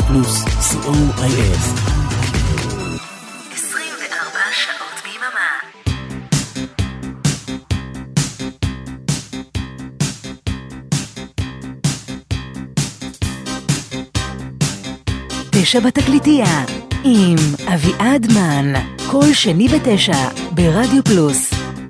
רדיו פלוס, COIS. 24 שעות ביממה. תשע בתקליטייה עם אביעד מן, כל שני ב9 ברדיו פלוס.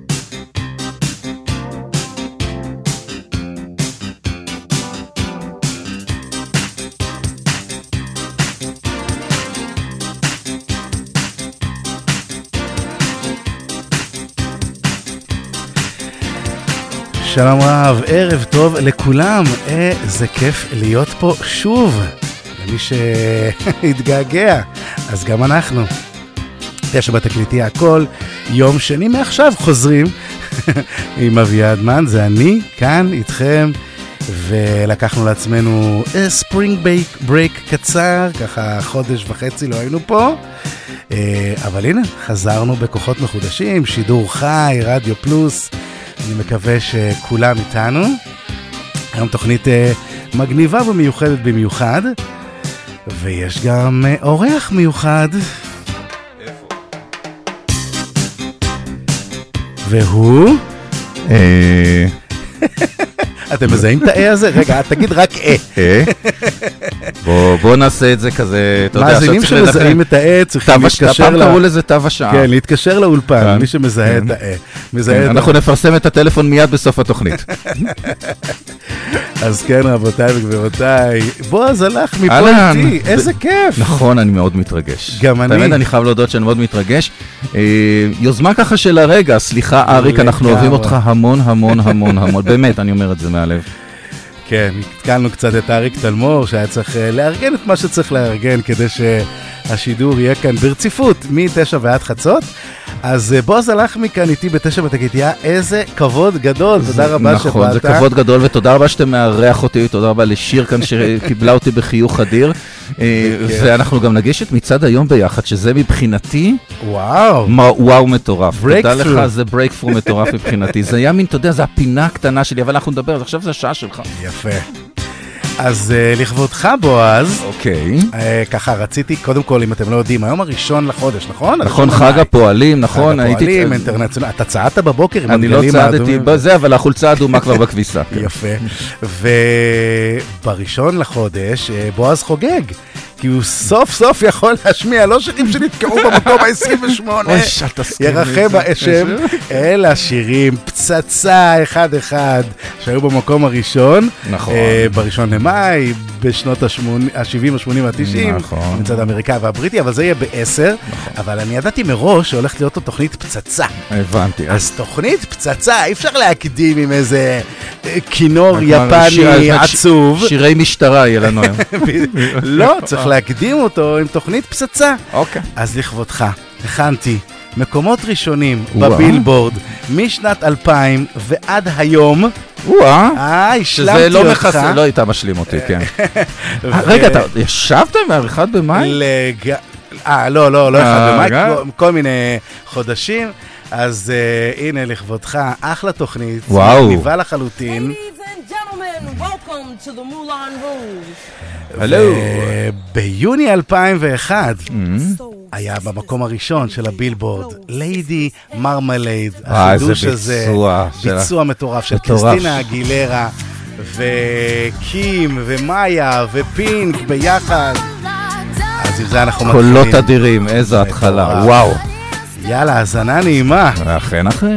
שלום רב, ערב טוב לכולם, איזה כיף להיות פה שוב, למי שהתגעגע, אז גם אנחנו. תשע בתקליטייה, כל יום שני מעכשיו חוזרים עם אביעד מן, זה אני כאן איתכם, ולקחנו לעצמנו ספרינג ברייק קצר, ככה חודש וחצי לא היינו פה, אבל הנה, חזרנו בכוחות מחודשים, שידור חי, רדיו פלוס, אני מקווה שכולם איתנו. היום תוכנית מגניבה ומיוחדת במיוחד, ויש גם אורח מיוחד. איפה? והוא? אתם מזהים את ה-A הזה? רגע, תגיד רק A. בוא נעשה את זה כזה, אתה יודע, מאזינים שמזהים את ה-A צריכים להתקשר פעם קראו לזה תו השעה. כן, להתקשר לאולפן, מי שמזהה את ה-A. אנחנו נפרסם את הטלפון מיד בסוף התוכנית. אז כן, רבותיי וגבירותיי, בועז הלך מפה איתי, איזה כיף. נכון, אני מאוד מתרגש. גם אני. באמת, אני חייב להודות שאני מאוד מתרגש. יוזמה ככה של הרגע, סליחה אריק, אנחנו אוהבים אותך המון המון המון המון, באמת, אני אומר את זה מהלב. כן, התקלנו קצת את אריק תלמור, שהיה צריך לארגן את מה שצריך לארגן, כדי שהשידור יהיה כאן ברציפות, מ-9 ועד חצות. אז בועז הלך מכאן איתי ב9 בתקליטייה, איזה כבוד גדול, תודה רבה שבאת. נכון, זה כבוד גדול, ותודה רבה שאתם מארח אותי, תודה רבה לשיר כאן שקיבלה אותי בחיוך אדיר, ואנחנו גם נגיש את מצעד היום ביחד, שזה מבחינתי, וואו מטורף. תודה לך, זה ברייקפרו מטורף מבחינתי, זה היה מין, אתה יודע, זה הפינה הקטנה שלי, אבל אנחנו נדבר, אז עכשיו זה השעה שלך. יפה. אז לכבודך בועז, אוקיי. ככה רציתי, קודם כל אם אתם לא יודעים, היום הראשון לחודש, נכון? נכון, חג הפועלים, נכון. חג הפועלים, אינטרנציונל, אתה צעדת בבוקר עם הדגלים האדומים? אני לא צעדתי בזה, אבל החולצה האדומה כבר בכביסה. יפה. ובראשון לחודש בועז חוגג, כי הוא סוף סוף יכול להשמיע, לא שירים שנתקעו במקום ה-28, ירחם האשם, אלא שירים פצצה אחד-אחד שהיו במקום הראשון, בראשון למאי, בשנות ה-70, ה-80, ה-90, מצד האמריקאי והבריטי, אבל זה יהיה ב-10, אבל אני ידעתי מראש שהולכת להיות לו תוכנית פצצה. הבנתי. אז תוכנית פצצה, אי אפשר להקדים עם איזה כינור יפני עצוב. שירי משטרה יהיה לנו היום. לא, צריך להקדים אותו עם תוכנית פצצה. אוקיי. אז לכבודך, הכנתי מקומות ראשונים בבילבורד משנת 2000 ועד היום. השלמתי שזה אותך. לא הייתה משלים אותי, כן. רגע, אתה ישבת מהאחד במאי? לא אחד במאי, כל מיני חודשים. אז הנה לכבודך, אחלה תוכנית, מגניבה לחלוטין. Welcome to the Moulin Rouge. ביוני 2001 היה במקום הראשון של הבילבורד ליידי מרמלייד, החידוש הזה, ביצוע מטורף של קריסטינה אגילרה וקים ומאיה ופינק ביחד. אז עם זה אנחנו מתחילים. קולות אדירים, איזו התחלה, וואו. יאללה, הזנה נעימה. אכן, אכן.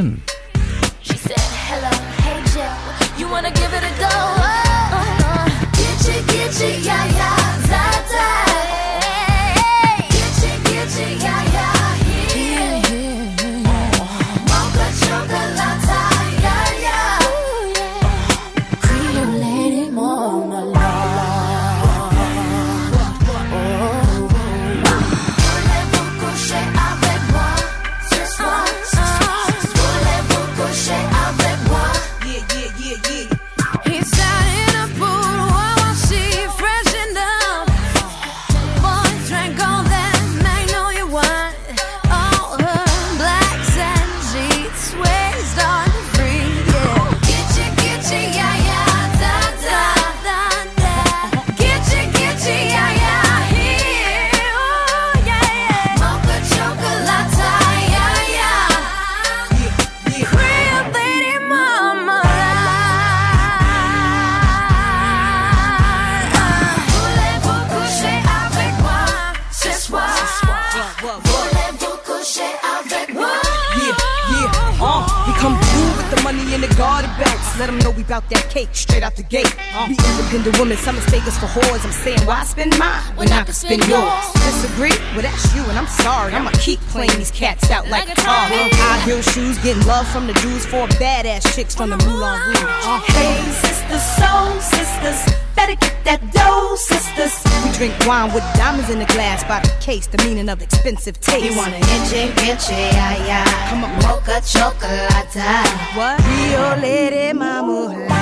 money in the garter belts. Let them know we bout that cake straight out the gate. We independent women, some mistake us for whores. I'm saying, why spend mine when I can spend yours? Disagree? Well, that's you, and I'm sorry. I'ma keep playing these cats out like a car. High heel shoes, getting love from the Jews, 4 badass chicks from the Moulin Rouge. Hey, sisters, soul sisters, better get that dough, sisters. We drink wine with diamonds in the glass by the case, the meaning of expensive taste. You want an inche, ay, ay. Come on, mocha chocolate. What? Rio Lady Mama.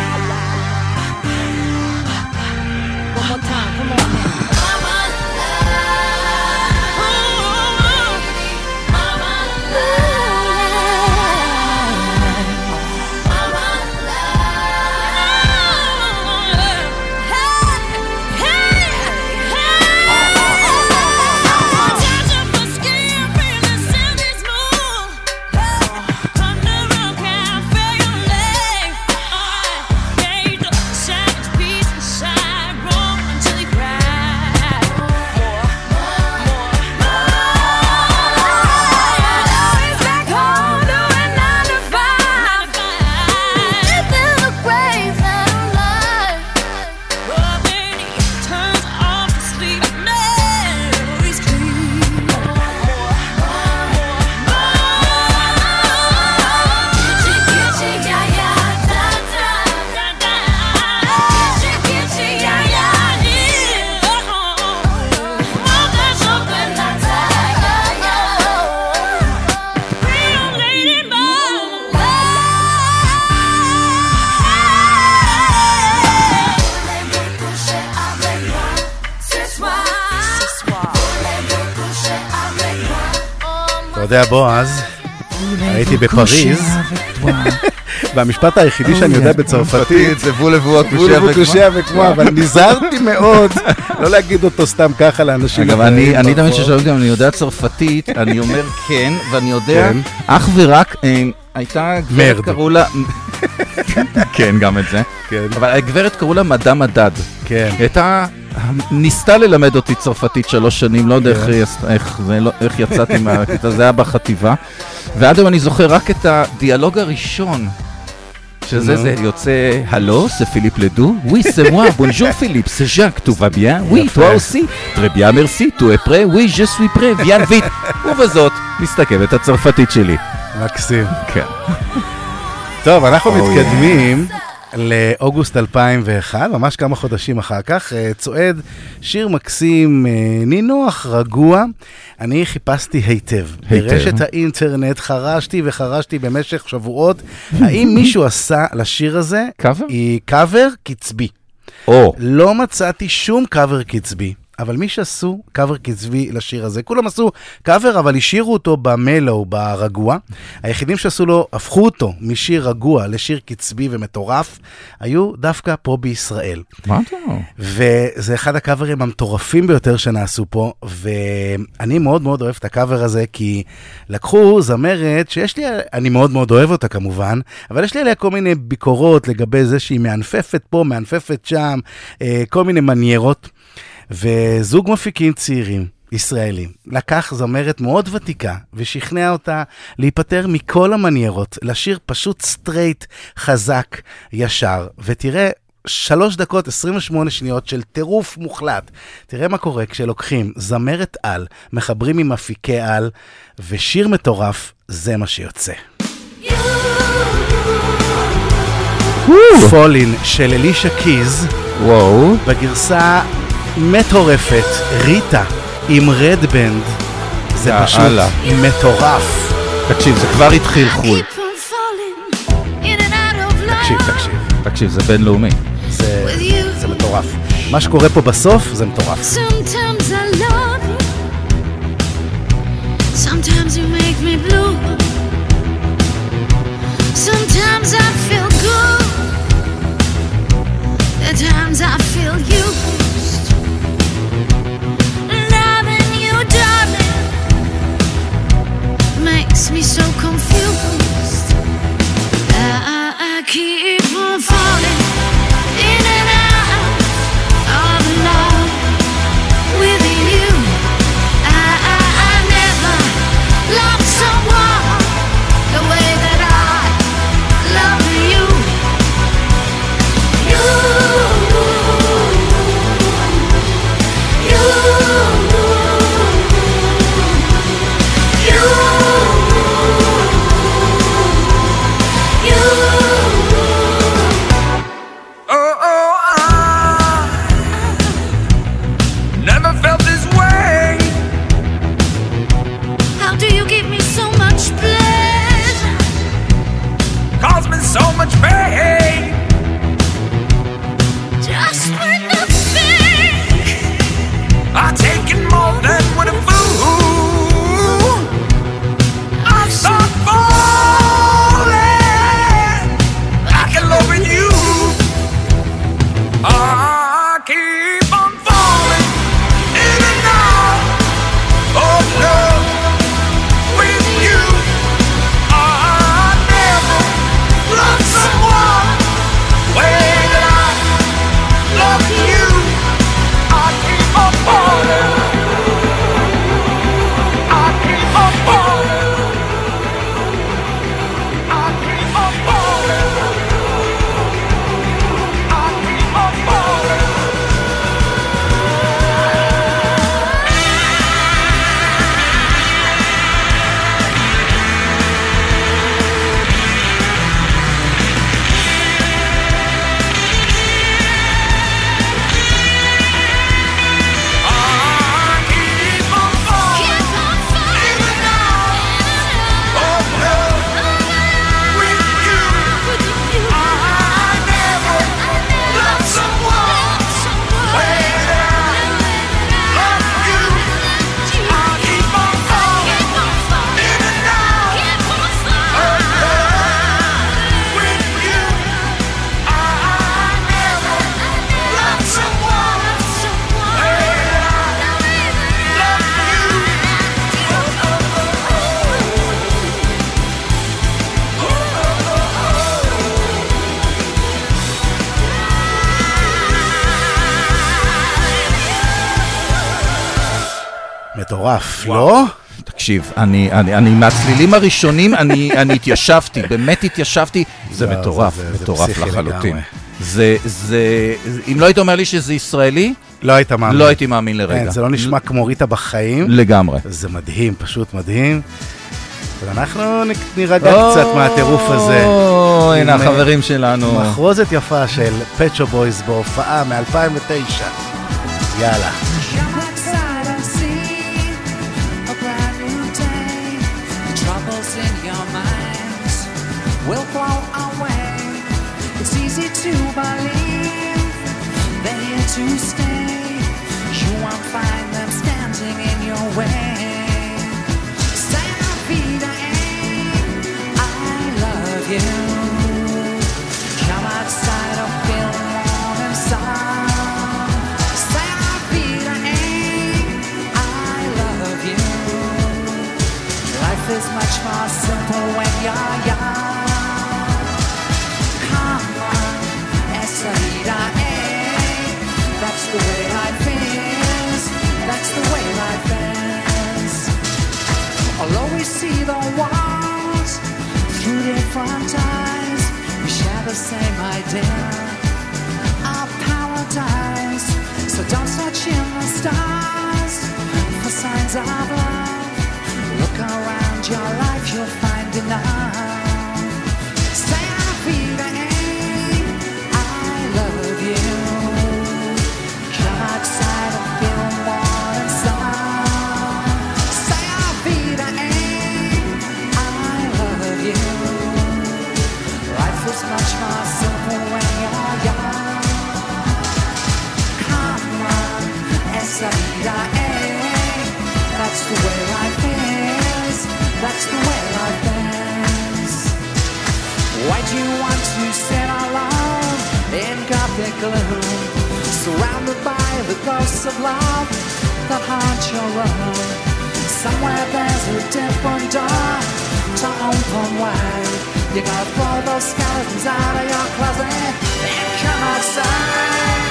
One more time, come on now. אתה יודע, בועז, הייתי בפריז, והמשפט היחידי שאני יודע בצרפתית זה וולבו הקושיה וקמוע, אבל נזהרתי מאוד לא להגיד אותו סתם ככה לאנשים. אגב, אני תמיד ששאלות גם, אני יודע צרפתית, אני אומר כן, ואני יודע אך ורק, הייתה גברת קראו לה, כן, גם את זה, אבל הגברת קראו לה מדאם מדד. כן. הייתה, ניסתה ללמד אותי צרפתית 3 שנים, לא יודע איך יצאתי מהכיתה, זה היה בחטיבה, ועד היום אני זוכר רק את הדיאלוג הראשון, שזה יוצא, הלו, זה פיליפ לדו? Oui, c'est moi, bonjour Philippe, c'est Jacques, tout va bien? Oui, toi aussi? Très bien, merci, tu es prêt? Oui, je suis prêt, viens vite. ובזאת, מסתכמת הצרפתית שלי. מקסים. כן. טוב, אנחנו מתקדמים לאוגוסט 2001, ממש כמה חודשים אחר כך, צועד שיר מקסים, נינוח, רגוע. אני חיפשתי היטב. ברשת האינטרנט חרשתי וחרשתי במשך שבועות. האם מישהו עשה לשיר הזה? קאבר? קאבר קצבי. לא מצאתי שום קאבר קצבי. אבל מי שעשו קאבר קצבי לשיר הזה, כולם עשו קאבר, אבל השאירו אותו במלו, ברגוע. היחידים שעשו לו, הפכו אותו משיר רגוע לשיר קצבי ומטורף, היו דווקא פה בישראל. מה אתה? וזה אחד הקאברים המטורפים ביותר שנעשו פה, ואני מאוד מאוד אוהב את הקאבר הזה, כי לקחו זמרת שיש לי, אני מאוד מאוד אוהב אותה כמובן, אבל יש לי עליה כל מיני ביקורות לגבי זה שהיא מענפפת פה, מענפפת שם, כל מיני מניירות. וזוג מפיקים צעירים, ישראלים, לקח זמרת מאוד ותיקה ושכנע אותה להיפטר מכל המניירות, לשיר פשוט סטרייט, חזק, ישר, ותראה 3 דקות 28 שניות של טירוף מוחלט. תראה מה קורה כשלוקחים זמרת על, מחברים עם מפיקי על, ושיר מטורף, זה מה שיוצא. פולין של אלישה קיז, בגרסה מטורפת, ריטה עם רדבנד, זה פשוט מטורף. תקשיב, זה כבר התחיל חול. תקשיב, זה בינלאומי. זה מטורף. מה שקורה פה בסוף זה מטורף. Sometimes I love you, sometimes you make me blue, sometimes I feel good, at times I feel used. Loving you, darling, makes me so confused. I keep on falling in and out of love מטורף, לא? תקשיב, אני מהצלילים הראשונים, אני התיישבתי, באמת התיישבתי, זה מטורף, מטורף לחלוטין. אם לא היית אומר לי שזה ישראלי, לא היית מאמין. לא הייתי מאמין לרגע. זה לא נשמע כמו ריטה בחיים. לגמרי. זה מדהים, פשוט מדהים. ואנחנו נירגע קצת מהטירוף הזה. הנה החברים שלנו. מחרוזת יפה של Pet Shop Boys בהופעה מ-2009. יאללה. Will blow away. It's easy to believe they're here to stay. You won't find them standing in your way. Stand up, Peter, I love you. Come outside or feel warm inside. Stand up, Peter, I love you. Life is much more simple when you're young. That's the way life is. That's the way life is. I'll always see the world through different eyes. We share the same idea of paradise. So don't search in the stars for signs of love. Look around your life, you'll find enough. Say I'll be the I love you. Come outside and feel warm inside. Say I'll be the I love you. Life is much more simple when you're young. Come on, S-A-I-A. That's the way life is. That's the way life is. Why do you want to sit alone in gothic gloom, surrounded by the ghosts of love that haunt your room? Somewhere there's a different door to open wide. You gotta throw those skeletons out of your closet and come outside.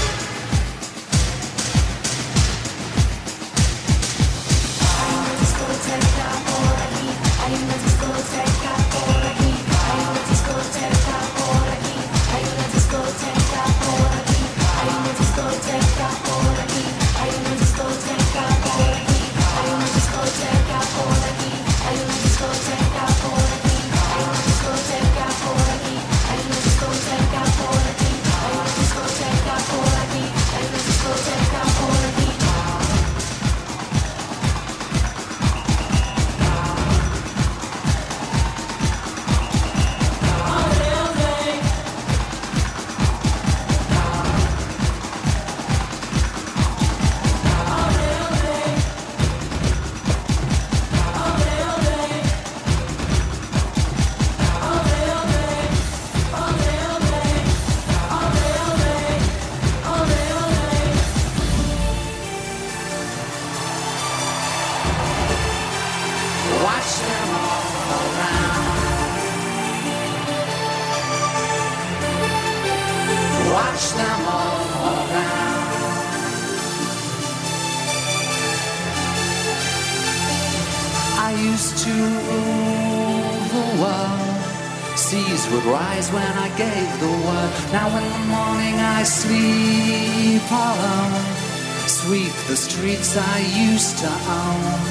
Would rise when I gave the word. Now in the morning I sleep alone, sweep the streets I used to own.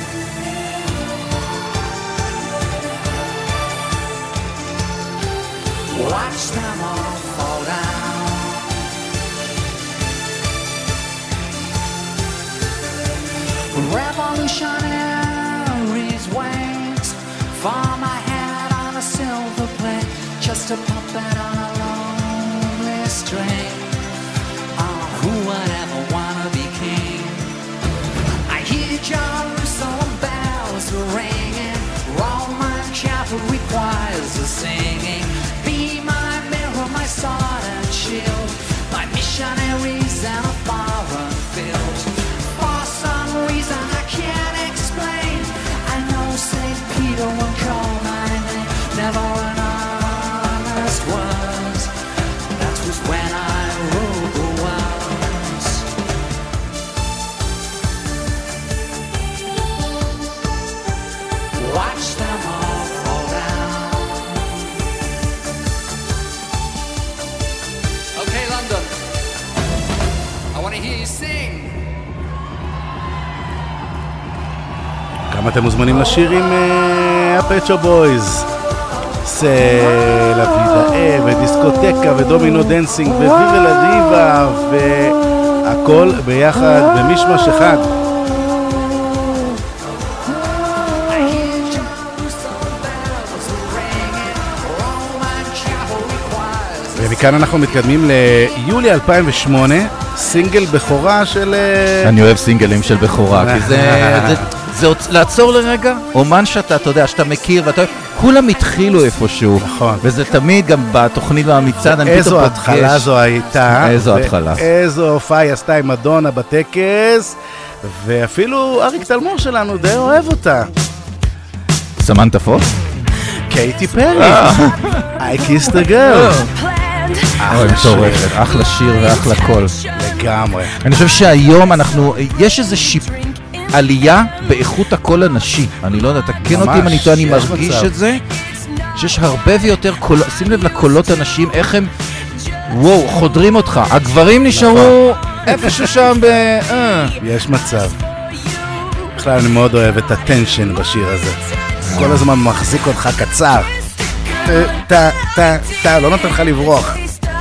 Watch them all fall down. Revolutionaries wait for my head on a silver plate, just a puppet on a lonely string. Oh, who would ever wanna be king? I hear Jerusalem bells ringing, Roman cavalry choirs are singing. Be my mirror, my sword and shield, my missionaries in a foreign field. For some reason I can't explain, I know St. Peter will call my name. Never an honest word, that was when I ruled the world. גם אתם מוזמנים לשיר עם הפט שופ בויז. סה לה וידה ודיסקוטקה ודומינו דנסינג וויבה לה דיבה והכל ביחד במשמש אחד. ומכאן אנחנו מתקדמים ליולי 2008, סינגל בכורה של... אני אוהב סינגלים של בכורה, כי זה לעצור לרגע, אומן שאתה, אתה יודע, שאתה מכיר ואתה אוהב, כולם התחילו איפשהו. נכון. וזה תמיד גם בתוכנית והמצעד, אני פתאום פוגש. איזו התחלה זו הייתה. איזו התחלה. איזו הופעה היא עשתה עם מדונה בטקס, ואפילו אריק תלמור שלנו די אוהב אותה. סמנטה פוקס? קייטי פרי. I kissed a girl. אוי, מטורפת, אחלה שיר ואחלה קול. לגמרי. אני חושב שהיום יש איזה עלייה באיכות הקול הנשי. אני לא יודע, תקן אותי אם אני טועה, אני מרגיש את זה. שיש הרבה ויותר קולות, שים לב לקולות הנשיים, איך הם, וואו, חודרים אותך. הגברים נשארו איפשהו שם יש מצב. בכלל אני מאוד אוהב את הטנשן בשיר הזה. כל הזמן מחזיק אותך קצר. לא נותן לך לברוח.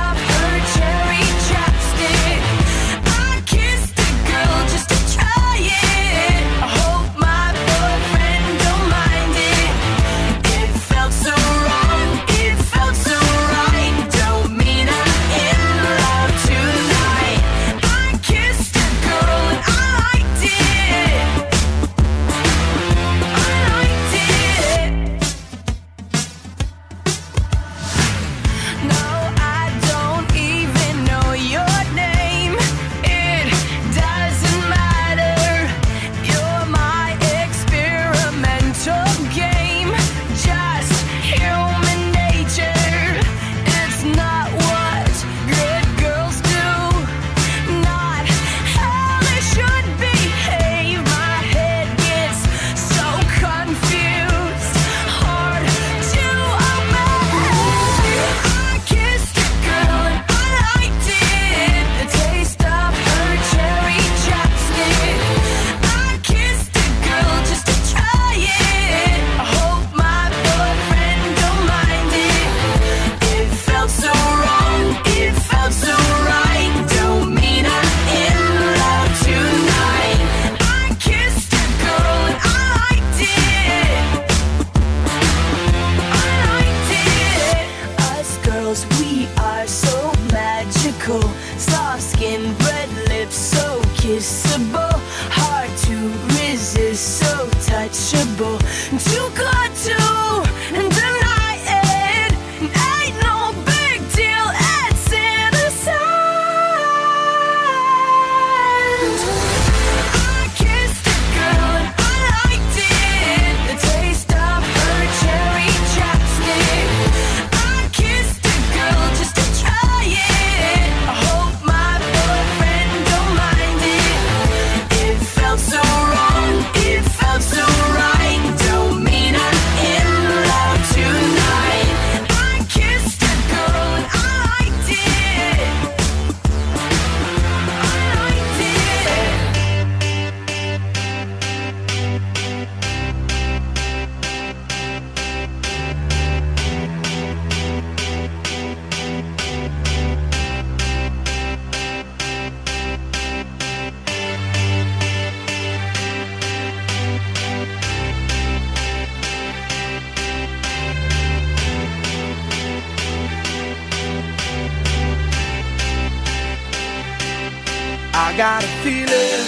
I got a feeling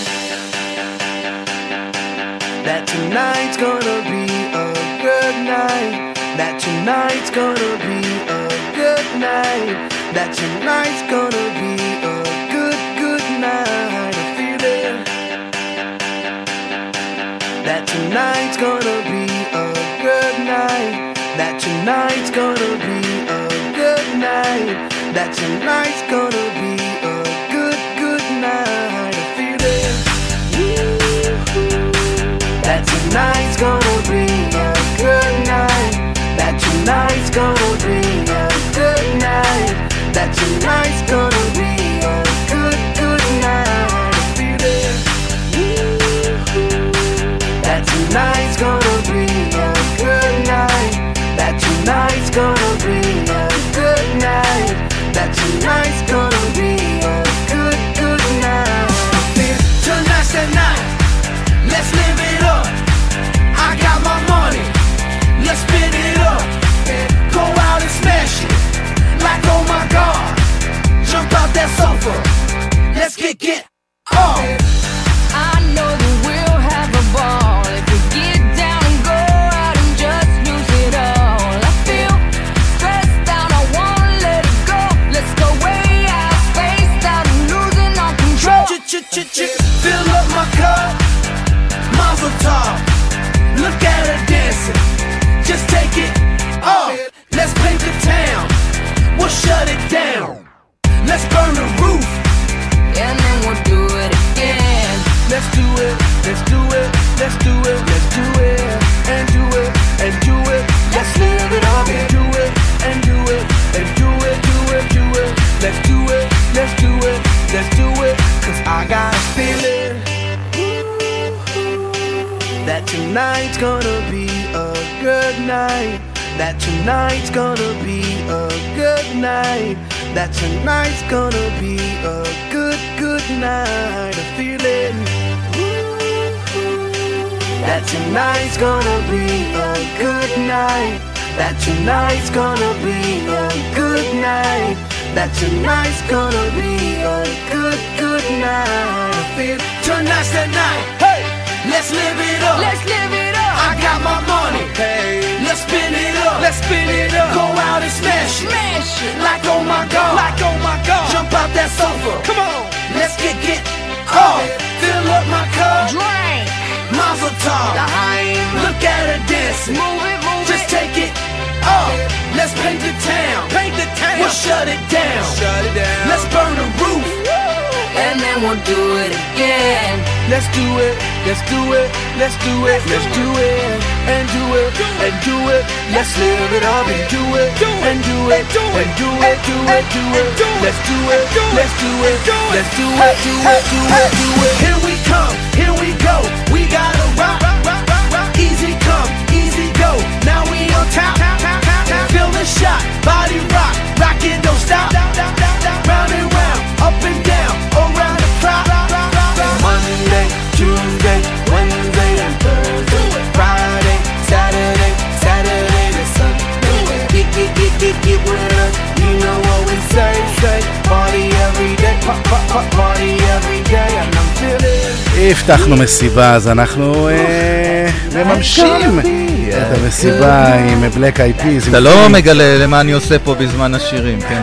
that tonight's gonna be a good night. That tonight's gonna be a good night. That tonight's gonna be a good night. A feeling that tonight's gonna be a good night. That tonight's gonna be a good night. That tonight's gonna be a good night. A feeling that tonight's gonna be a good night. That tonight's gonna be a good night. That tonight's gonna be a good night. kick it off. I know that we'll have a ball if we get down and go out and just lose it all. I feel stressed out, I wanna let it go. Let's go way out, spaced out and losing all control. Fill up my cup, Mazel tov. Look at her dancing, just take it off. Let's paint the town, we'll shut it down. Let's burn the roof, and then we'll do it again. Let's do it, let's do it, let's do it, let's do it, and do it, and do it. Let's live it up and do it, and do it, and do it, do it, do it. Let's do it, let's do it, let's do it. Cause I got a feeling that tonight's gonna be a good night. That tonight's gonna be a good night. That tonight's gonna be a good, good night. A feeling that tonight's gonna be a good night. That tonight's gonna be a good night. That tonight's gonna be a good, good night. I feel tonight's the night. Hey, let's live it up. Let's live it up. I got my money. Hey, let's spin it up. Let's spin it up. Go out and smash it. Smash it. Like oh my god. Like oh my god. Jump out that sofa. Come on. Let's get off. Fill up my cup. Drink. Mazel tov. Look at her dancing. Move it, move Just it. take it off. Let's paint the town. Paint the town. We'll shut it down. Shut it down. Let's burn the roof. And then we'll do it again. Let's do it, let's do it, let's do it, let's do it, and do it, and do it. Let's live it up and do it, and do it, and do it, do it, do it. Let's do it, let's do it, let's do it, do it, do it, do it. Here we come, here we go. We gotta rock, rock, rock, rock. Easy come, easy go. Now we on top, feel the shot, body rock, rock it, don't stop. Round and round, up and down, around the clock. Monday, Tuesday, Wednesday, and Thursday, Friday, Saturday, Saturday to Sunday. Get with us, you know what we say. Party every day, party every day, and I'm feeling. הבטחנו מסיבה, אז אנחנו מממשים את המסיבה עם בלק איי פיז. אתה לא מגלה למה אני עושה פה בזמן השירים, כן?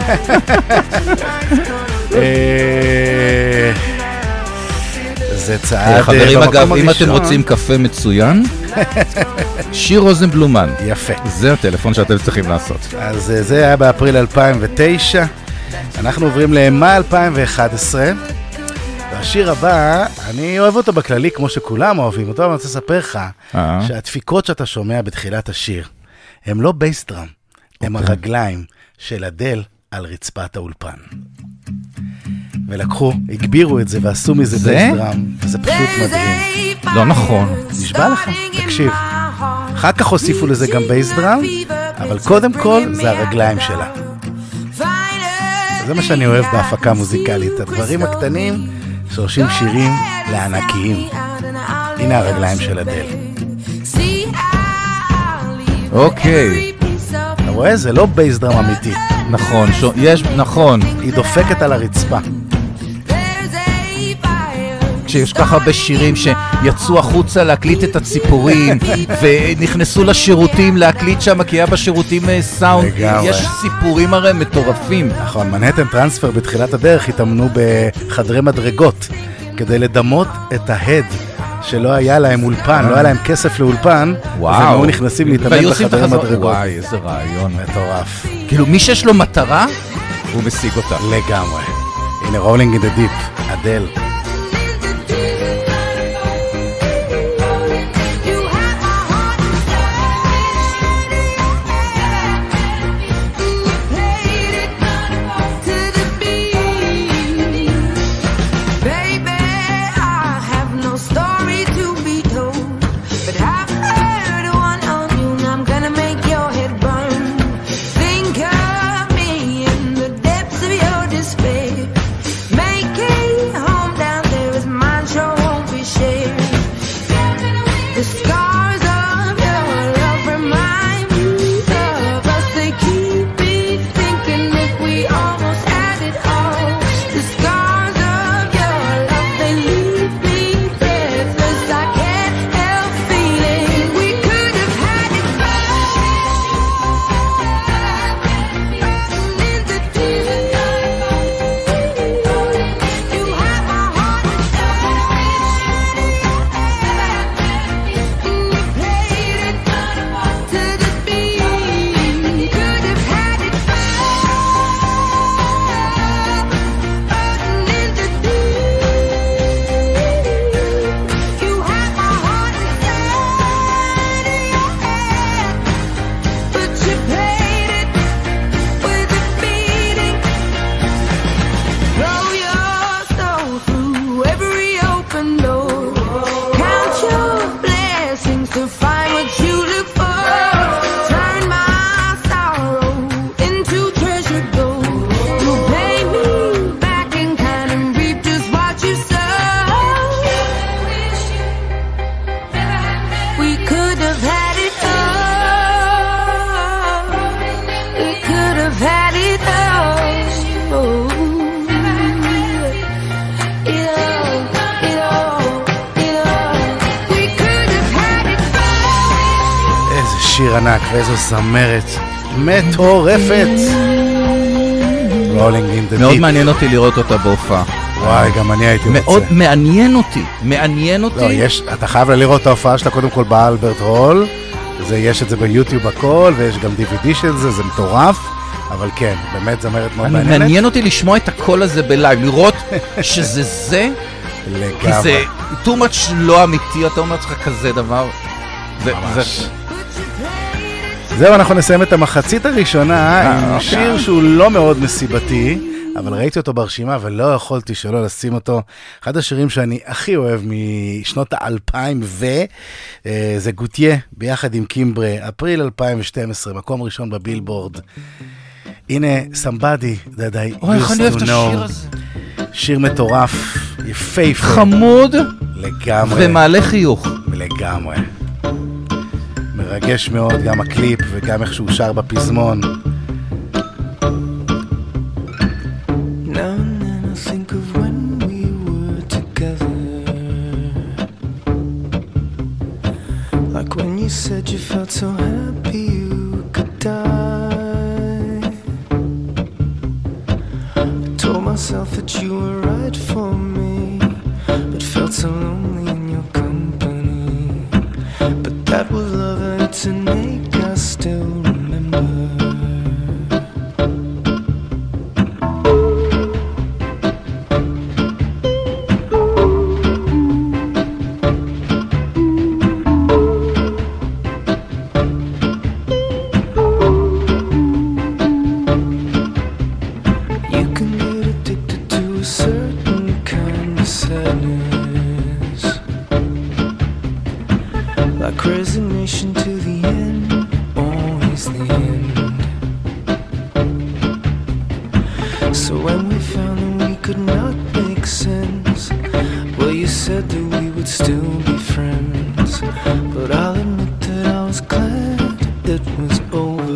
זה צעד חברים, במקום אגב, הראשון. אם אתם רוצים קפה מצוין, שיר רוזנבלומן. יפה. זה הטלפון שאתם צריכים לעשות. אז זה היה באפריל 2009. אנחנו עוברים למאי 2011. והשיר הבא, אני אוהב אותו בכללי כמו שכולם אוהבים אותו, אבל אני רוצה לספר לך שהדפיקות שאתה שומע בתחילת השיר, הם לא בייס דראם, הם הרגליים של אדל על רצפת האולפן. ולקחו, הגבירו את זה ועשו מזה בייס דראם, וזה פשוט מדהים. לא נכון. נשבע לך, תקשיב. אחר כך הוסיפו לזה גם בייס דראם, אבל קודם כל זה הרגליים שלה. זה מה שאני אוהב בהפקה מוזיקלית, הדברים הקטנים שעושים שירים לענקיים. הנה הרגליים של אדל. אוקיי. אתה רואה? זה לא בייס דראם אמיתי. נכון, יש, נכון. היא דופקת על הרצפה. כשיש ככה הרבה שירים שיצאו החוצה להקליט את הציפורים ונכנסו לשירותים להקליט שם, כי היה בשירותים סאונד, יש סיפורים הרי מטורפים. נכון, מנהטן טרנספר בתחילת הדרך התאמנו בחדרי מדרגות כדי לדמות את ההד שלא היה להם אולפן, לא היה להם כסף לאולפן, אז הם היו נכנסים להתאמן בחדרי מדרגות. וואי, איזה רעיון מטורף. כאילו מי שיש לו מטרה הוא משיג אותה לגמרי. הנה רולינג אין דה דיפ, אדל. Make it home. ענק, ואיזו זמרת מטורפת. Rolling in the מאוד Deep. מעניין אותי לראות אותה בהופעה. וואי, גם אני הייתי רוצה. מאוד מעניין אותי. לא, אתה חייב לראות את ההופעה שלה קודם כל באלברט הול. יש את זה ביוטיוב הכל, ויש גם DVD של זה, זה מטורף. אבל כן, באמת זמרת מאוד מעניינת. מעניין אותי לשמוע את הקול הזה בלייב, לראות שזה זה. לגמרי. כי זה too much לא אמיתי, אתה אומר לך כזה דבר. ממש. זהו, אנחנו נסיים את המחצית הראשונה עם שיר שהוא לא מאוד מסיבתי, אבל ראיתי אותו ברשימה ולא יכולתי שלא לשים אותו. אחד השירים שאני הכי אוהב משנות ה-2000 זה גוטיה ביחד עם קימברה, אפריל 2012, מקום ראשון בבילבורד. הנה, Somebody That I Used to Know. שיר מטורף, יפהפה. חמוד. לגמרי. ומעלה חיוך. לגמרי. מרגש מאוד, גם הקליפ וגם איך שהוא שר בפזמון. Now and then I think of when we were together, like when you said you felt so happy you could die. I told myself that you were right for me, but felt so lonely in your company. But that was love and it's an ache I still remember. Resignation to the end, always the end. So when we found that we could not make sense, well, you said that we would still be friends. But I'll admit that I was glad it was over.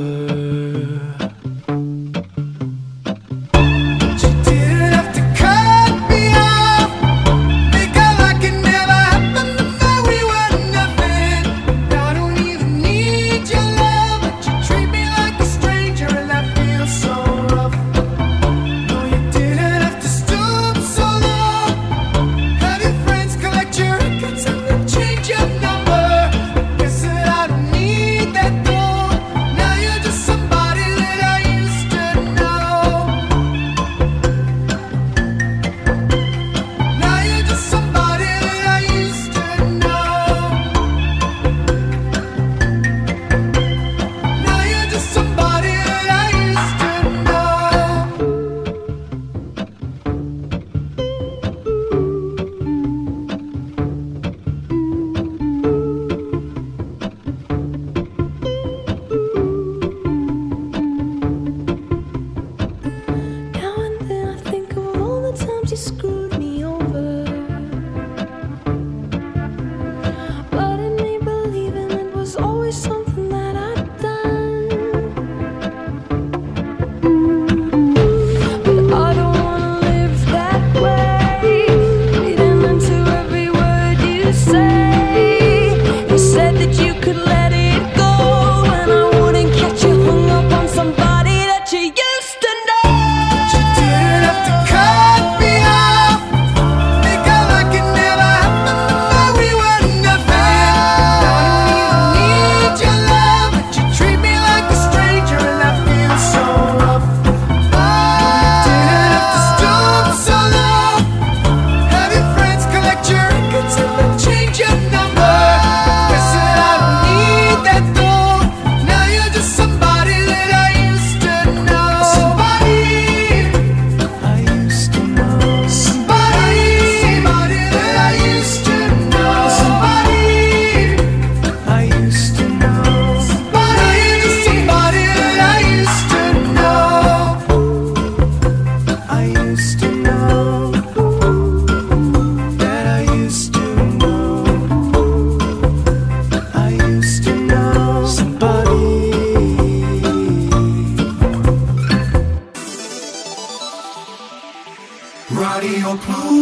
רדיו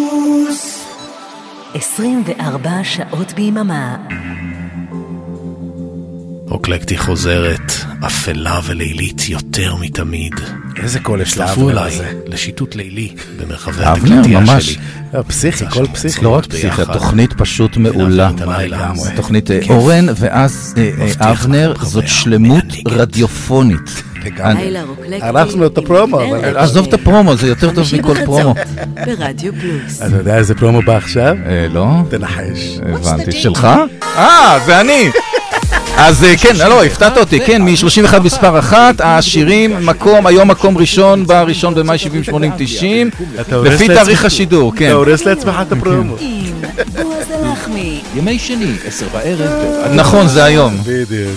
פלוס 24 שעות ביממה. רוקלקטי חוזרת, אפלה ולילית יותר מתמיד. איזה קול יש הצטרפו לאבנר אליי הזה. לשיטוט לילי במרחבי אבנר, התקליטייה ממש. שלי. פסיכי, קול פסיכי. לא רק פסיכי, התוכנית פשוט מעולה. התוכנית אורן ואז אבנר, זאת שלמות רדיופונית. אנחנו את הפרומו, אבל... עזוב את הפרומו, זה יותר טוב מכל פרומו. ברדיו פלוס. אתה יודע איזה פרומו בא עכשיו? לא. תנחש. הבנתי. שלך? זה אני. אז כן, לא, הפתעת אותי, כן, מ-31 מספר 1, השירים, היום מקום ראשון, בראשון במאי 70-80-90, לפי תאריך השידור, כן. אתה הורס לעצמך את הפרומו. בועז הלחמי. ימי שני, 10 בערב. נכון, זה היום. בדיוק.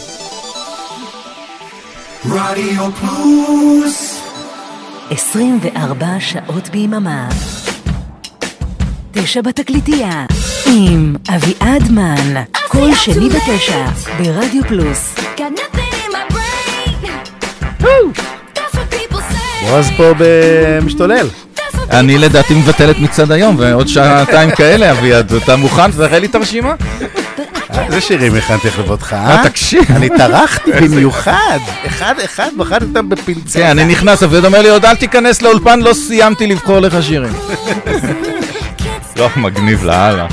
רדיו פלוס 24 שעות ביממה. 9 בתקליטייה. עם אביעד מן. כל שני ב9 ברדיו פלוס. בועז פה במשתולל. אני לדעתי מבטל את מצד היום, ועוד שעתיים כאלה, אביעד. אתה מוכן? תראה לי את הרשימה? איזה שירים הכנתי לכבודך, תקשיב. אני טרחתי במיוחד. אחד, בחרתי אותם בפינצטה. כן, אני נכנס, אביעד אומר לי, עוד אל תיכנס לאולפן, לא סיימתי לבחור לך שירים. לא, מגניב להלאה.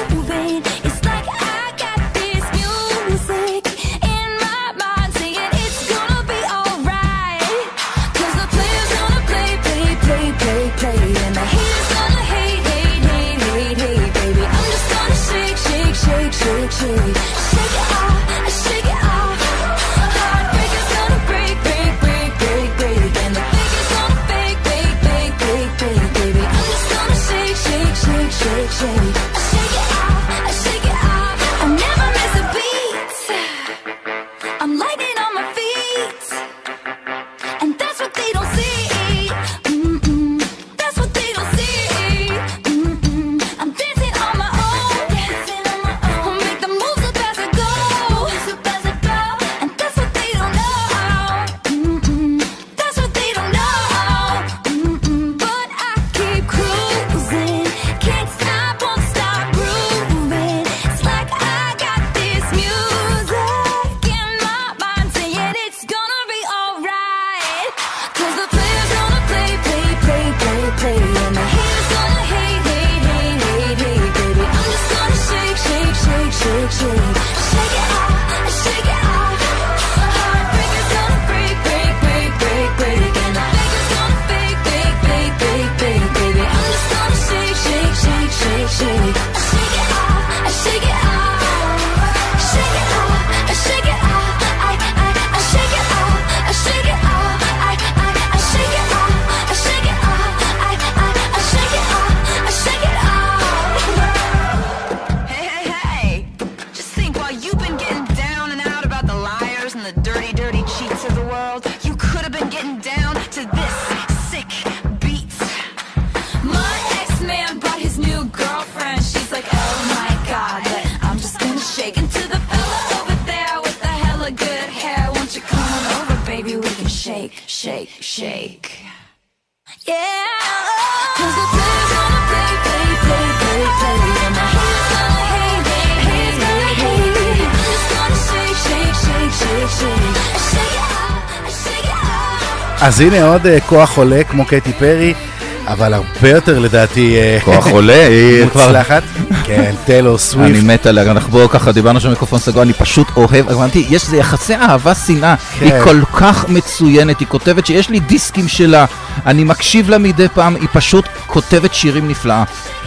אז הנה עוד כוח עולה כמו קטי פרי, אבל הרבה יותר לדעתי כוח עולה, היא מוצלחת. כן, טיילור סוויפט. אני מת עליה, אנחנו ככה דיברנו שם מיקרופון סגור, אני פשוט אוהב, הבנתי, יש לי יחסי אהבה שנאה, היא כל כך מצוינת, היא כותבת שיש לי דיסקים שלה, אני מקשיב לה מדי פעם, היא פשוט כותבת שירים נפלאה.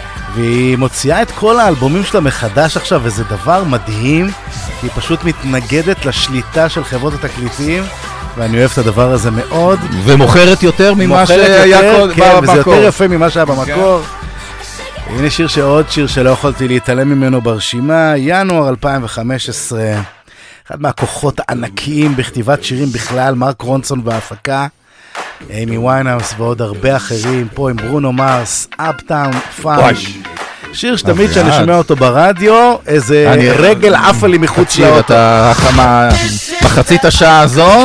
והיא מוציאה את כל האלבומים שלה מחדש עכשיו, וזה דבר מדהים, כי היא פשוט מתנגדת לשליטה של חברות התקליטים, ואני אוהב את הדבר הזה מאוד. ומוכרת יותר ממה שהיה במקור. כן, וזה יותר יפה ממה שהיה במקור. הנה שיר שעוד שיר שלא יכולתי להתעלם ממנו ברשימה, ינואר 2015. אחד מהכוחות הענקיים בכתיבת שירים בכלל, מרק רונסון בהפקה, אימי ויינהאוס ועוד הרבה אחרים, פה עם ברונו מרס, אפטאון פאנק. שיר שתמיד שאני שומע אותו ברדיו, איזה רגל עפה לי מחוץ לאוטו. אתה מחצית השעה הזאת,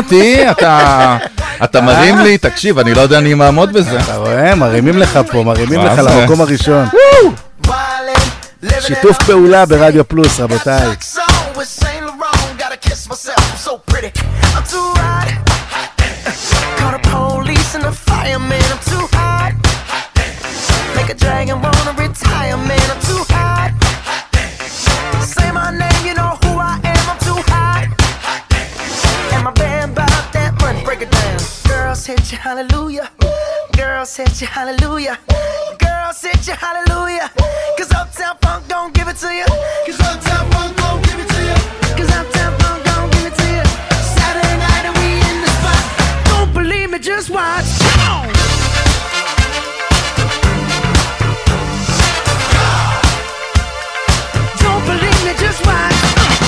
אתה מרים לי, תקשיב, אני לא יודע אני מעמוד בזה. אתה רואה? מרימים לך פה, מרימים לך למקום הראשון. שיתוף פעולה ברדיו פלוס, רבותיי. man, I'm too hot. Make a dragon wanna retire, man, I'm too hot. Say my name, you know who I am, I'm too hot. And my band bought that money, break it down. Girls hit you, hallelujah. Girls hit you, hallelujah. Girls hit you, hallelujah. Cause Uptown Funk don't give it to you. Cause Uptown Funk don't give it to you. Cause Uptown Funk don't give it to you. Saturday night and we in the spot. Don't believe me, just watch. Come on. Don't believe me, just watch.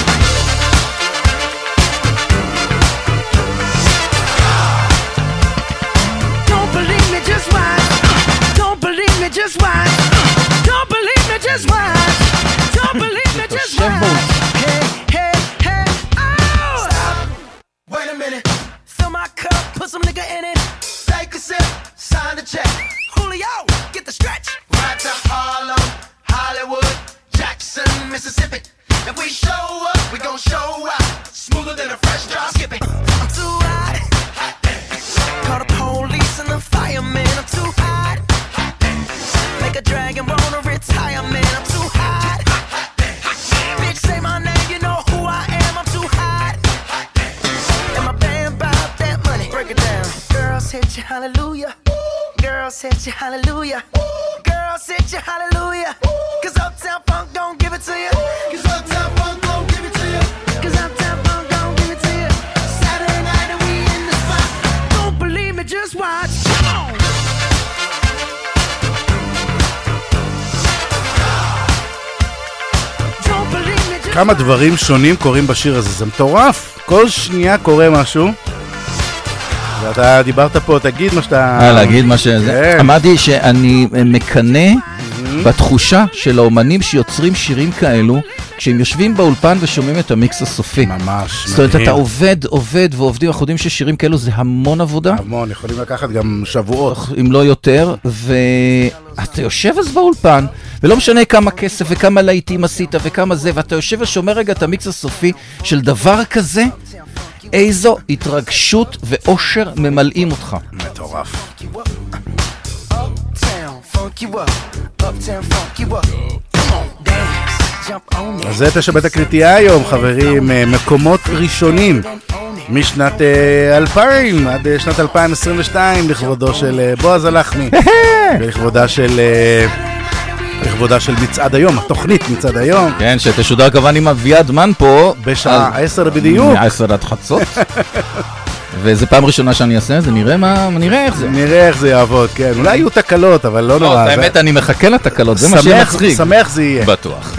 Don't believe me, just watch. Don't believe me, just watch. Don't believe me, just watch. Don't believe me, just watch. Hey, hey, hey, oh! Stop. Wait a minute. Fill my cup, put some nigga in it. Take a sip, sign the check. Julio, get the stretch. Right to Harlem, Hollywood, Jackson, Mississippi. If we show up, we gon' show out. Smoother than a fresh drop. Skip it. I'm too hot. Call the police and the fireman. I'm too hot. Make a dragon wanna retire, man. I'm too hot. Bitch, say my name, you know who I am. I'm too hot. And my band bought that money. Break it down. Girls hit you, hallelujah. Girls hit you, hallelujah. Girls hit you, hallelujah. Cause Uptown Funk don't give it to you. Cause Uptown Funk don't give it to you. Cause Uptown Funk don't give it to you. Saturday night and we in the spot. Don't believe me, just watch. Come on. Don't believe me, just כמה דברים שונים קורים בשיר הזה, זה מטורף. כל שנייה קורה משהו. ואתה דיברת פה, תגיד מה שאתה... להגיד מה שזה. אמרתי שאני מקנה בתחושה של האומנים שיוצרים שירים כאלו, כשהם יושבים באולפן ושומעים את המיקס הסופי. ממש. זאת אומרת, אתה עובד ועובדים, אנחנו יודעים ששירים כאלו זה המון עבודה. המון, יכולים לקחת גם שבועות. אם לא יותר, ואתה יושב אז באולפן, ולא משנה כמה כסף וכמה להיטים עשית וכמה זה, ואתה יושב ושומע רגע את המיקס הסופי של דבר כזה, איזו התרגשות ואושר ממלאים אותך. מטורף. אז זה 9 בתקליטייה היום, חברים, מקומות ראשונים משנת 2000 עד שנת 2022 לכבודו של בועז הלחמי לכבודה של מצעד היום, התוכנית מצעד היום. כן, שתשודר כמובן עם אביעד מן פה בשעה 10 בדיוק. מ-10 עד חצות. וזה פעם ראשונה שאני אעשה, זה נראה איך זה. נראה איך זה יעבוד, כן. אולי יהיו תקלות, אבל לא נורא. האמת, אני מחכה לתקלות, זה מה שמצחיק. שמח זה יהיה. בטוח.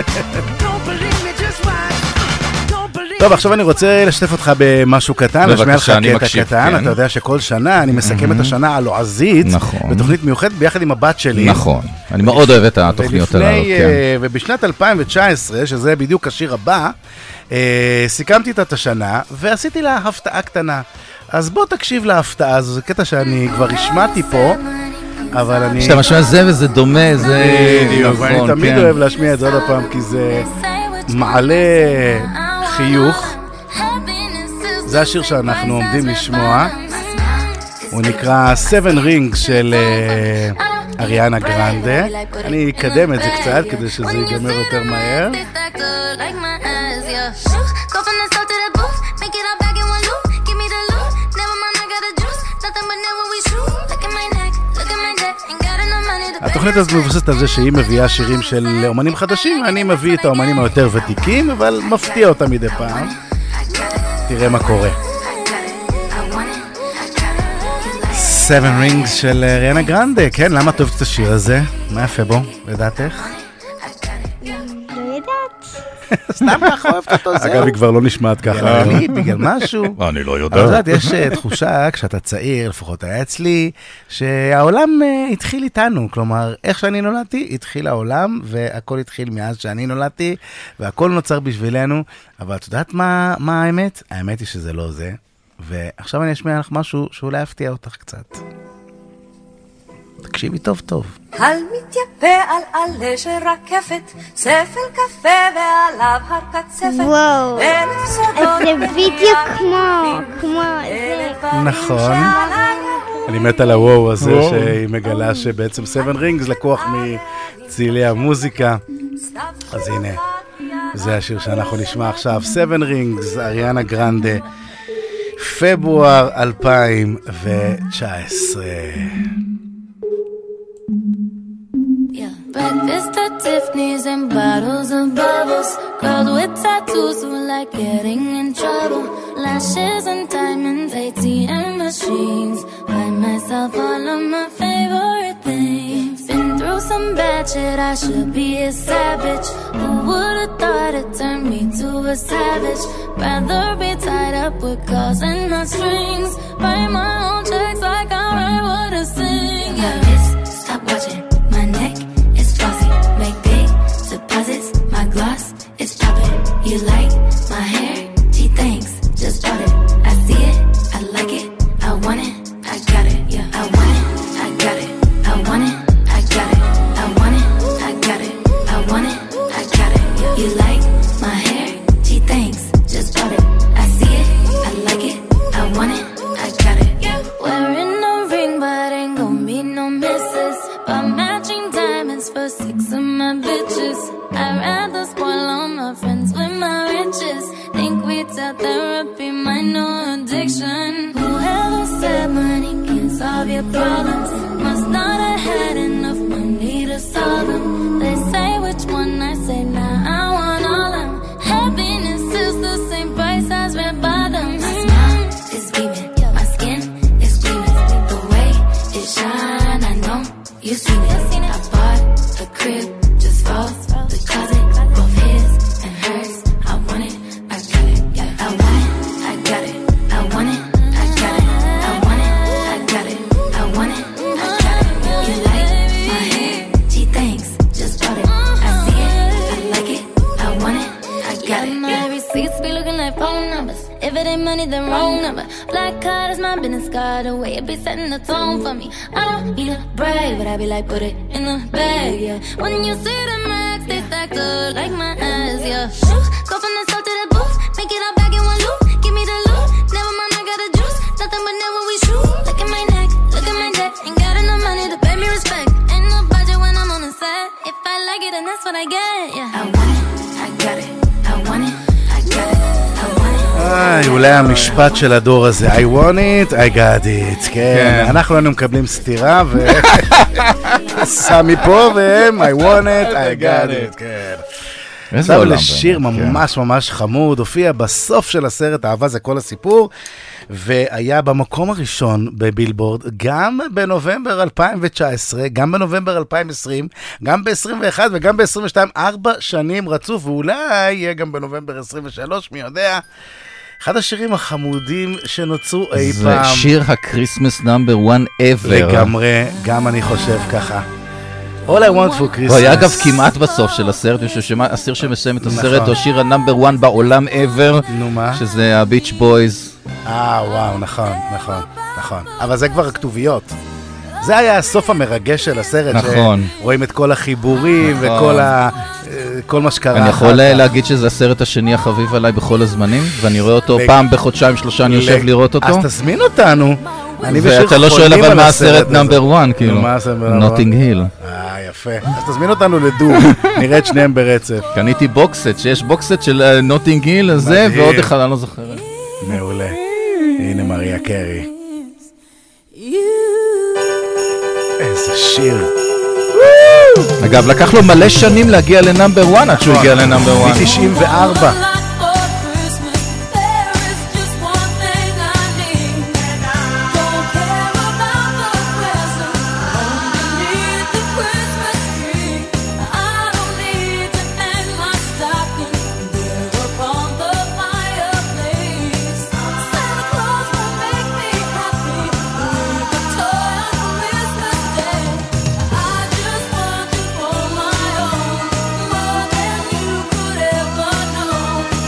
טוב, עכשיו אני רוצה לשתף אותך במשהו קטן, לשמיע לך קטע קטן. אתה יודע שכל שנה אני מסכם את השנה הלועזית, בתוכנית מיוחדת ביחד עם הבת שלי. נכון, אני מאוד אוהב את התוכניות הללו. ובשנת 2019, שזה בדיוק השיר הבא, סיכמתי את השנה ועשיתי לה הפתעה קטנה. אז בוא תקשיב להפתעה הזו, זה קטע שאני כבר השמעתי פה, אבל אני... שאתה משמע זה וזה דומה, זה... בדיוק, ואני תמיד אוהב להשמיע את זה עוד הפעם, כי זה מעלה חיוך. זה השיר שאנחנו עומדים לשמוע, הוא נקרא 7 Rings של אריאנה גרנדה. אני אקדם את זה קצת כדי שזה ייגמר יותר מהר. התוכנית הזאת מבוססת על זה שהיא מביאה שירים של אומנים חדשים, ואני מביא את האומנים היותר ותיקים, אבל מפתיע אותם מדי פעם. תראה מה קורה. 7 Rings של אריאנה גרנדה, כן, למה את אוהבת את השיר הזה? מה יפה בו, לדעתך? סתם ככה אוהבת אותו, זהו. אגב, היא כבר לא נשמעת ככה. בגלל משהו. אני לא יודע. אבל יודעת, יש תחושה, כשאתה צעיר, לפחות היה אצלי, שהעולם התחיל איתנו. כלומר, איך שאני נולדתי, התחיל העולם, והכל התחיל מאז שאני נולדתי, והכל נוצר בשבילנו. אבל את יודעת מה האמת? האמת היא שזה לא זה. ועכשיו אני אשמיע לך משהו שאולי יפתיע אותך קצת. תקשיבי טוב טוב. על מתייפה על עלה של רקפת, ספל קפה ועליו הר קצפת. וואו, זה בדיוק כמו זה. נכון. אני מת על הוואו הזה שהיא מגלה שבעצם 7 רינגס לקוח מצילי המוזיקה. אז הנה, זה השיר שאנחנו נשמע עכשיו, 7 רינגס, אריאנה גרנדה, פברואר 2019. Breakfast at Tiffany's and bottles of bubbles. Girls with tattoos who like getting in trouble. Lashes and diamonds, ATM machines. Buy myself all of my favorite things. Been through some bad shit, I should be a savage. Who would've thought it turned me to a savage? Rather be tied up with calls and not strings. Write my own checks like I write what I sing. Yeah, stop watching my neck. Make big deposits, my gloss is popping. You like my hair? Gee, thanks, just bought it. I see it, I like it, I want it, I got it. Yeah, I want it, I got it, I want it, I got it, I want it, I got it, I want it, I got it. Yeah. You like my hair? Gee, thanks, just bought it. I see it, I like it, I want it, I got it. Yeah. Wearing a ring, but ain't gon' be no misses. But matching diamonds for 6 of my bitches. I'd rather spoil all my friends with my riches. Think we tell therapy my new addiction. Whoever said money can't solve your problems must not have had enough money to solve them. They say which one, I say nah, I want all them. Happiness is the same price as red bottoms. My smile is beaming, my skin is gleaming. The way it shine, I know you seen it. I bought a crib, just falls the closet, both his and hers. I want it, I got it. Yeah, I want it, I got it. I want it, I got it. I want it, I got it. I want it, I got it. You like my hair? Gee, thanks, just bought it. I see it, I like it. I want it, I got it. My receipts be looking like phone numbers. If it ain't money, then wrong number. Black card is my business card. The way it be setting the tone for me. I don't need a brag, but I be like, put it in the bag, yeah. When you see the max, they stacked up like my ass, yeah. Shoot, go from the south to the booth. Make it all back in one loop. Give me the loot. Never mind, I got the juice. Nothing but never we shoot. Look at my neck, look at my neck. Ain't got enough money to pay me respect. Ain't no budget when I'm on the set. If I like it, then that's what I get, yeah. I want it, I got it. I want it, I got it. אולי המשפט של הדור הזה, I want it, I got it, כן, אנחנו היינו מקבלים סתירה וסמי פה והם, I want it, I got it, כן. עכשיו לשיר ממש ממש חמוד, הופיע בסוף של הסרט, אהבה זה כל הסיפור, והיה במקום הראשון בבילבורד, גם בנובמבר 2019, גם בנובמבר 2020, גם ב-21 וגם ב-22, 4 שנים רצוף, ואולי יהיה גם בנובמבר 23, מי יודע. אחד השירים החמודים שנוצרו אי פעם. זה שיר הקריסמס נאמבר 1 ever. לגמרי, גם אני חושב ככה. All I want for Christmas. הוא היה אגב כמעט בסוף של הסרט, השיר שמסיים את הסרט, הוא השיר הנאמבר 1 בעולם ever, שזה הביץ' בויז. וואו, נכון. אבל זה כבר הכתוביות. זה היה הסוף המרגש של הסרט, נכון. שרואים את כל החיבורים וכל מה שקרה. אני יכול להגיד שזה הסרט השני החביב עליי בכל הזמנים, ואני רואה אותו פעם בחודשיים 3, אני יושב לראות אותו. אז תזמין אותנו. ואתה לא שואל אבל מה הסרט נאמבר 1, כאילו. נוטינג היל. יפה. אז תזמין אותנו לדור, נראה את שניהם ברצף. קניתי בוקסט, שיש בוקסט של נוטינג היל הזה, ועוד אחד, אני לא זוכר. מעולה. הנה מריה קרי. איזה שיר. אגב, לקח לו מלא שנים להגיע לנאמבר 1 עד שהוא הגיע לנאמבר 1. מ-94. More than you could ever know.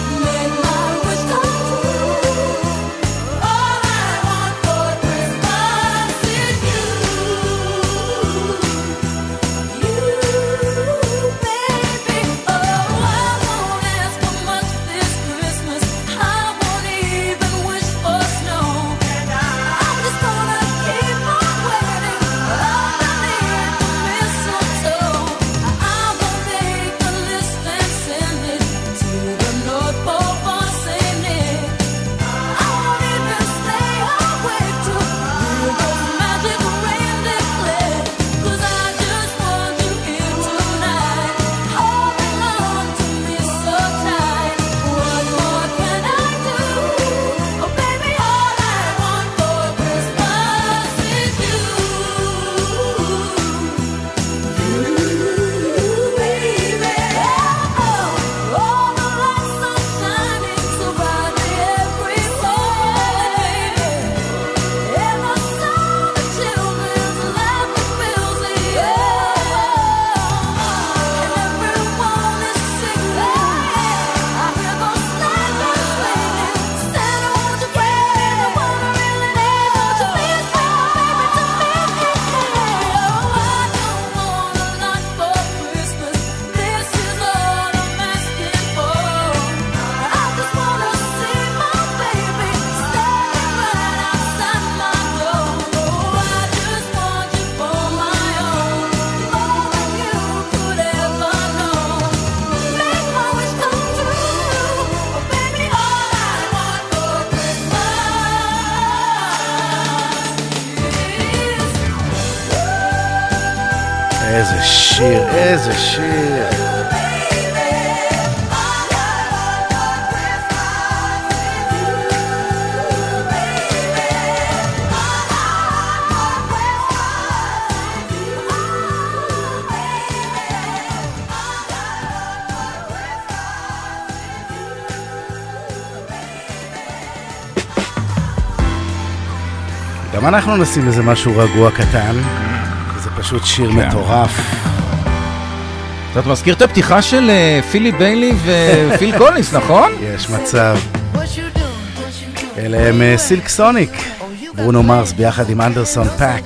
איזה שיר, איזה שיר. גם אנחנו נשים איזה משהו רגוע קטן, זה פשוט שיר מטורף. אתה מזכיר את הפתיחה של פילי ביילי ופיל קולינס, נכון? יש מצב. אלה הם סילק סוניק, ברונו מרס ביחד עם אנדרסון פאק.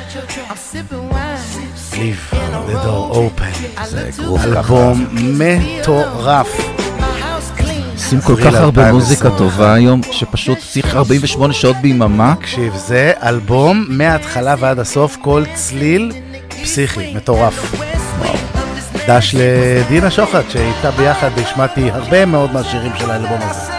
Leave the door open. זה גרוף ככה. אלבום מטורף. עושים כל כך הרבה מוזיקה טובה היום, שפשוט צריך 48 שעות ביממה. תקשיב, זה אלבום מההתחלה ועד הסוף, כל צליל פסיכי, מטורף. דש לדינה שוחט, שהייתה ביחד, השמעתי הרבה מאוד מהשירים של האלבום הזה.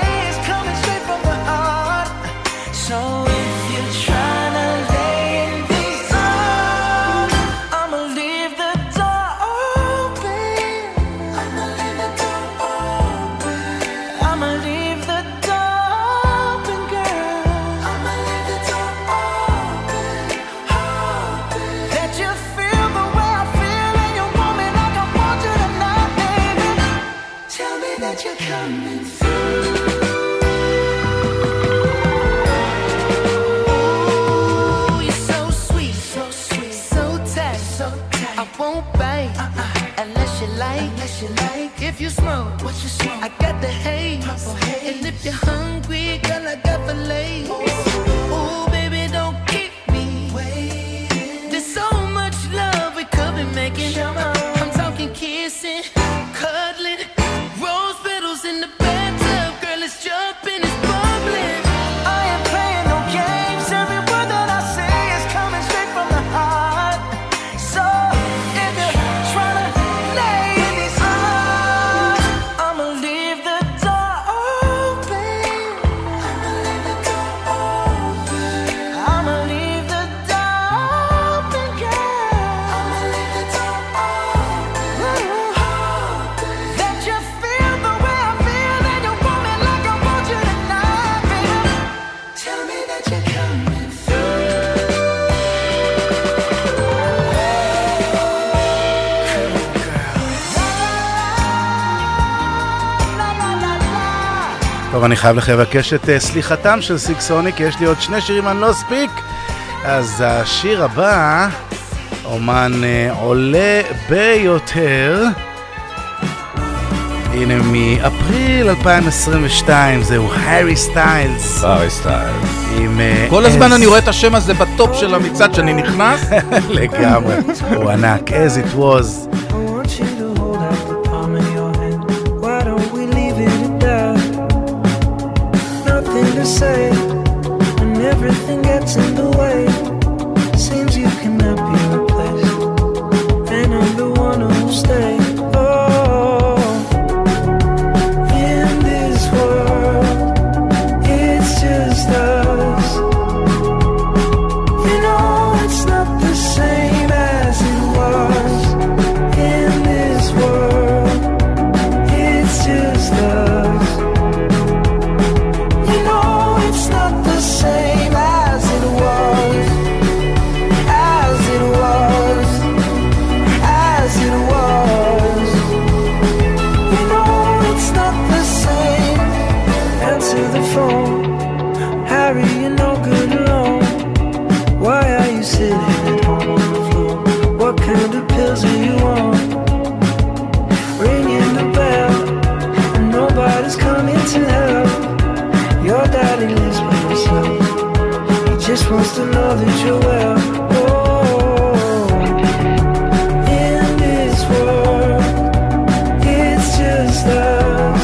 טוב, אני חייב לבקש את סליחתם של סילק סוניק, יש לי עוד שני שירים אני לא אספיק. אז השיר הבא, אומן עולה ביותר, הנה מאפריל 2022, זהו הארי סטיילס. הארי סטיילס. כל הזמן אני רואה את השם הזה בטופ של המצעד שאני נכנס. לגמרי, הוא ענק, as it was. Say when everything gets in the way, seems you cannot be replaced, and I'm the one who'll stay. Oh, in this world, it's just us. You know it's not the same as it was. In this world, it's just us. It's not the same as it was, as it was, as it was. You know it's not the same. Answer the phone, Harry, you're no good alone. Why are you sitting at home on the floor? What kind of pills are you on? Ringing the bell, and nobody's coming to help. Your daddy lives by himself. He just wants to know that you're well. Oh, in this world, it's just us.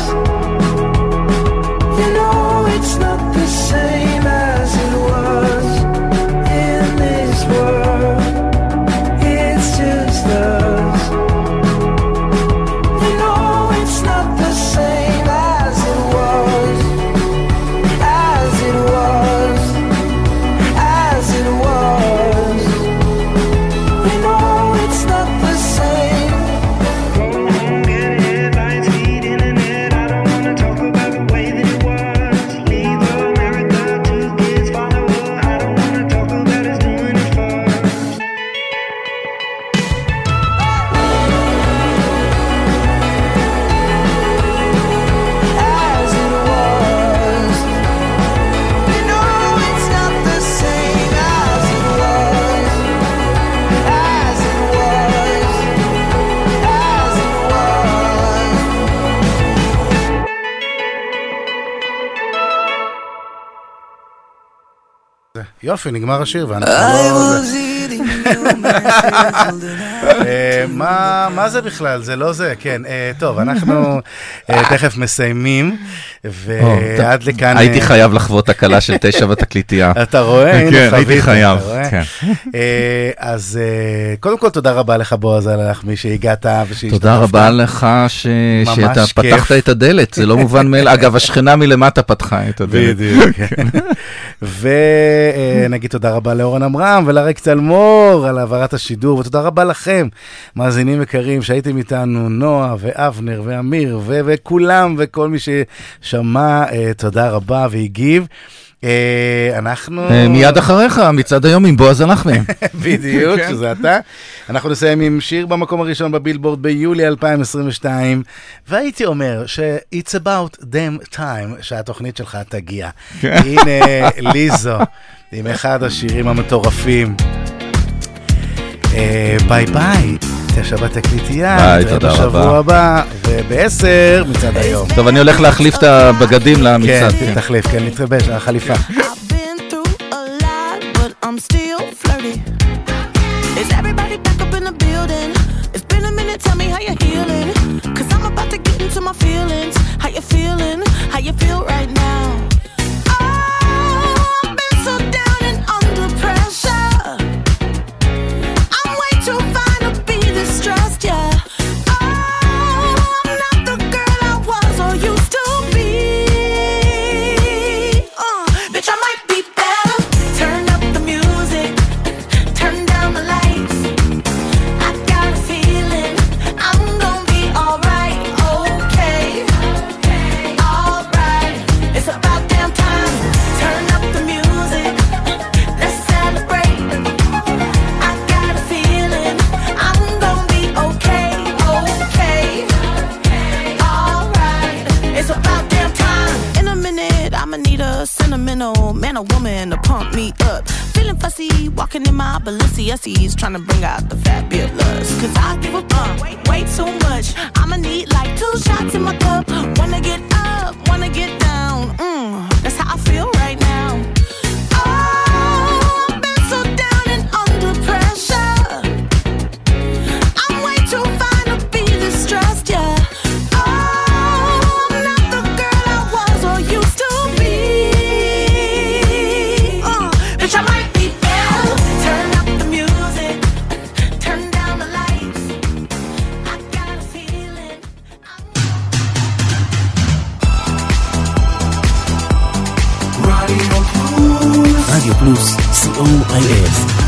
You know it's not the same as it was. In this world, it's just us. You know it's not the same as it was. As it was, as it was. יופי, נגמר השיר ואנחנו לא... מה זה בכלל? זה לא זה, כן. טוב, אנחנו תכף מסיימים, ועד לכאן... הייתי חייב לחוות הקלה של 9 בתקליטייה. אתה רואה? כן, הייתי חייב. אז קודם כל תודה רבה לך בועז הלחמי שהגעת ושהשתתפת. תודה רבה לך שאתה פתחת את הדלת, זה לא מובן מאליו. אגב, השכנה מלמטה פתחה את הדלת. בדיוק, כן. ונגיד תודה רבה לאורן אמרם ולריק צלמור על העברת השידור, ותודה רבה לכם, מאזינים יקרים שהייתם איתנו, נועה ואבנר ואמיר וכולם וכל מי ששמע, תודה רבה והגיב. אנחנו... מיד אחריך, מצד היום עם בועז הלחמי. בדיוק, שזה אתה. אנחנו נסיים עם שיר במקום הראשון בבילבורד ביולי 2022, והייתי אומר ש-It's about damn time שהתוכנית שלך תגיע. הנה ליזו, עם אחד השירים המטורפים. ביי ביי. 9 בתקליטייה, נתראה בשבוע הבא, וב10 מצד היום. טוב, אני הולך להחליף את הבגדים למצד. כן, תחליף, כן, נתרבש, החליפה. I'm still flirty. Is everybody back up in the building? It's been a minute, tell me how you're healing. Cause I'm about to get into my feelings. How you feeling? How you feel right now? Oh, I've been so down and under pressure. I'm way too fine to be distressed, yeah. Oh, I'm not the girl I was or used to be. Bitch, I might be better. Turn up the music, turn down the lights. I got a feeling I'm gonna be alright, okay, alright. It's about damn time. Turn up the music, let's celebrate. I got a feeling I'm gonna be okay, alright. It's about damn time. In a minute, I'ma need a sentimental man or woman to pump me up. Feeling fussy, walking in my Balenciennes, trying to bring out the fabulous. Cause I give a fuck way too much. I'ma need like 2 shots in my cup. Wanna get up, wanna get down. That's how I feel right now. Oh, I've been so down and under pressure. I'm way too fine to be distressed, yeah. Oh, I'm not the girl I was or used to be. Bitch, I might be better. Turn up the music, turn down the lights. I got a feeling. רדיו פלוס, COIF